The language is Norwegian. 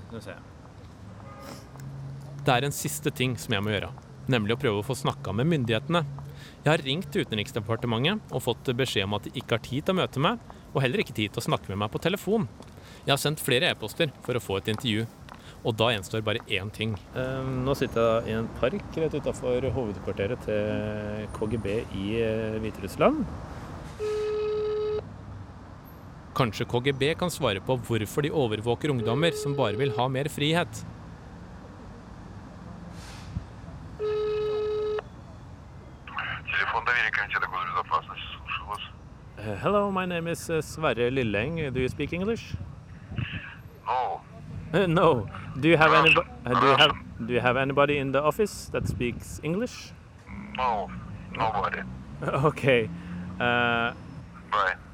Nå ser jeg. Det en siste ting som jeg må gjøre, nemlig å prøve å få snakket med myndighetene. Jeg har ringt til Utenriksdepartementet og fått beskjed om at de ikke har tid til å møte meg, og heller ikke tid til å snakke med meg på telefon. Jeg har sendt flere e-poster for å få et intervju, og da gjenstår bare én ting. Nå sitter jeg i en park rett utenfor hovedkvarteret til KGB i Hviterussland. Kanskje KGB kan svare på hvorfor de overvåker ungdommer som bare vil ha mer frihet. Hello, my name is Sverre Lilleng. Do you speak English? No. No. Do you have anybody in the office that speaks English? No. Nobody. Okay. Bye.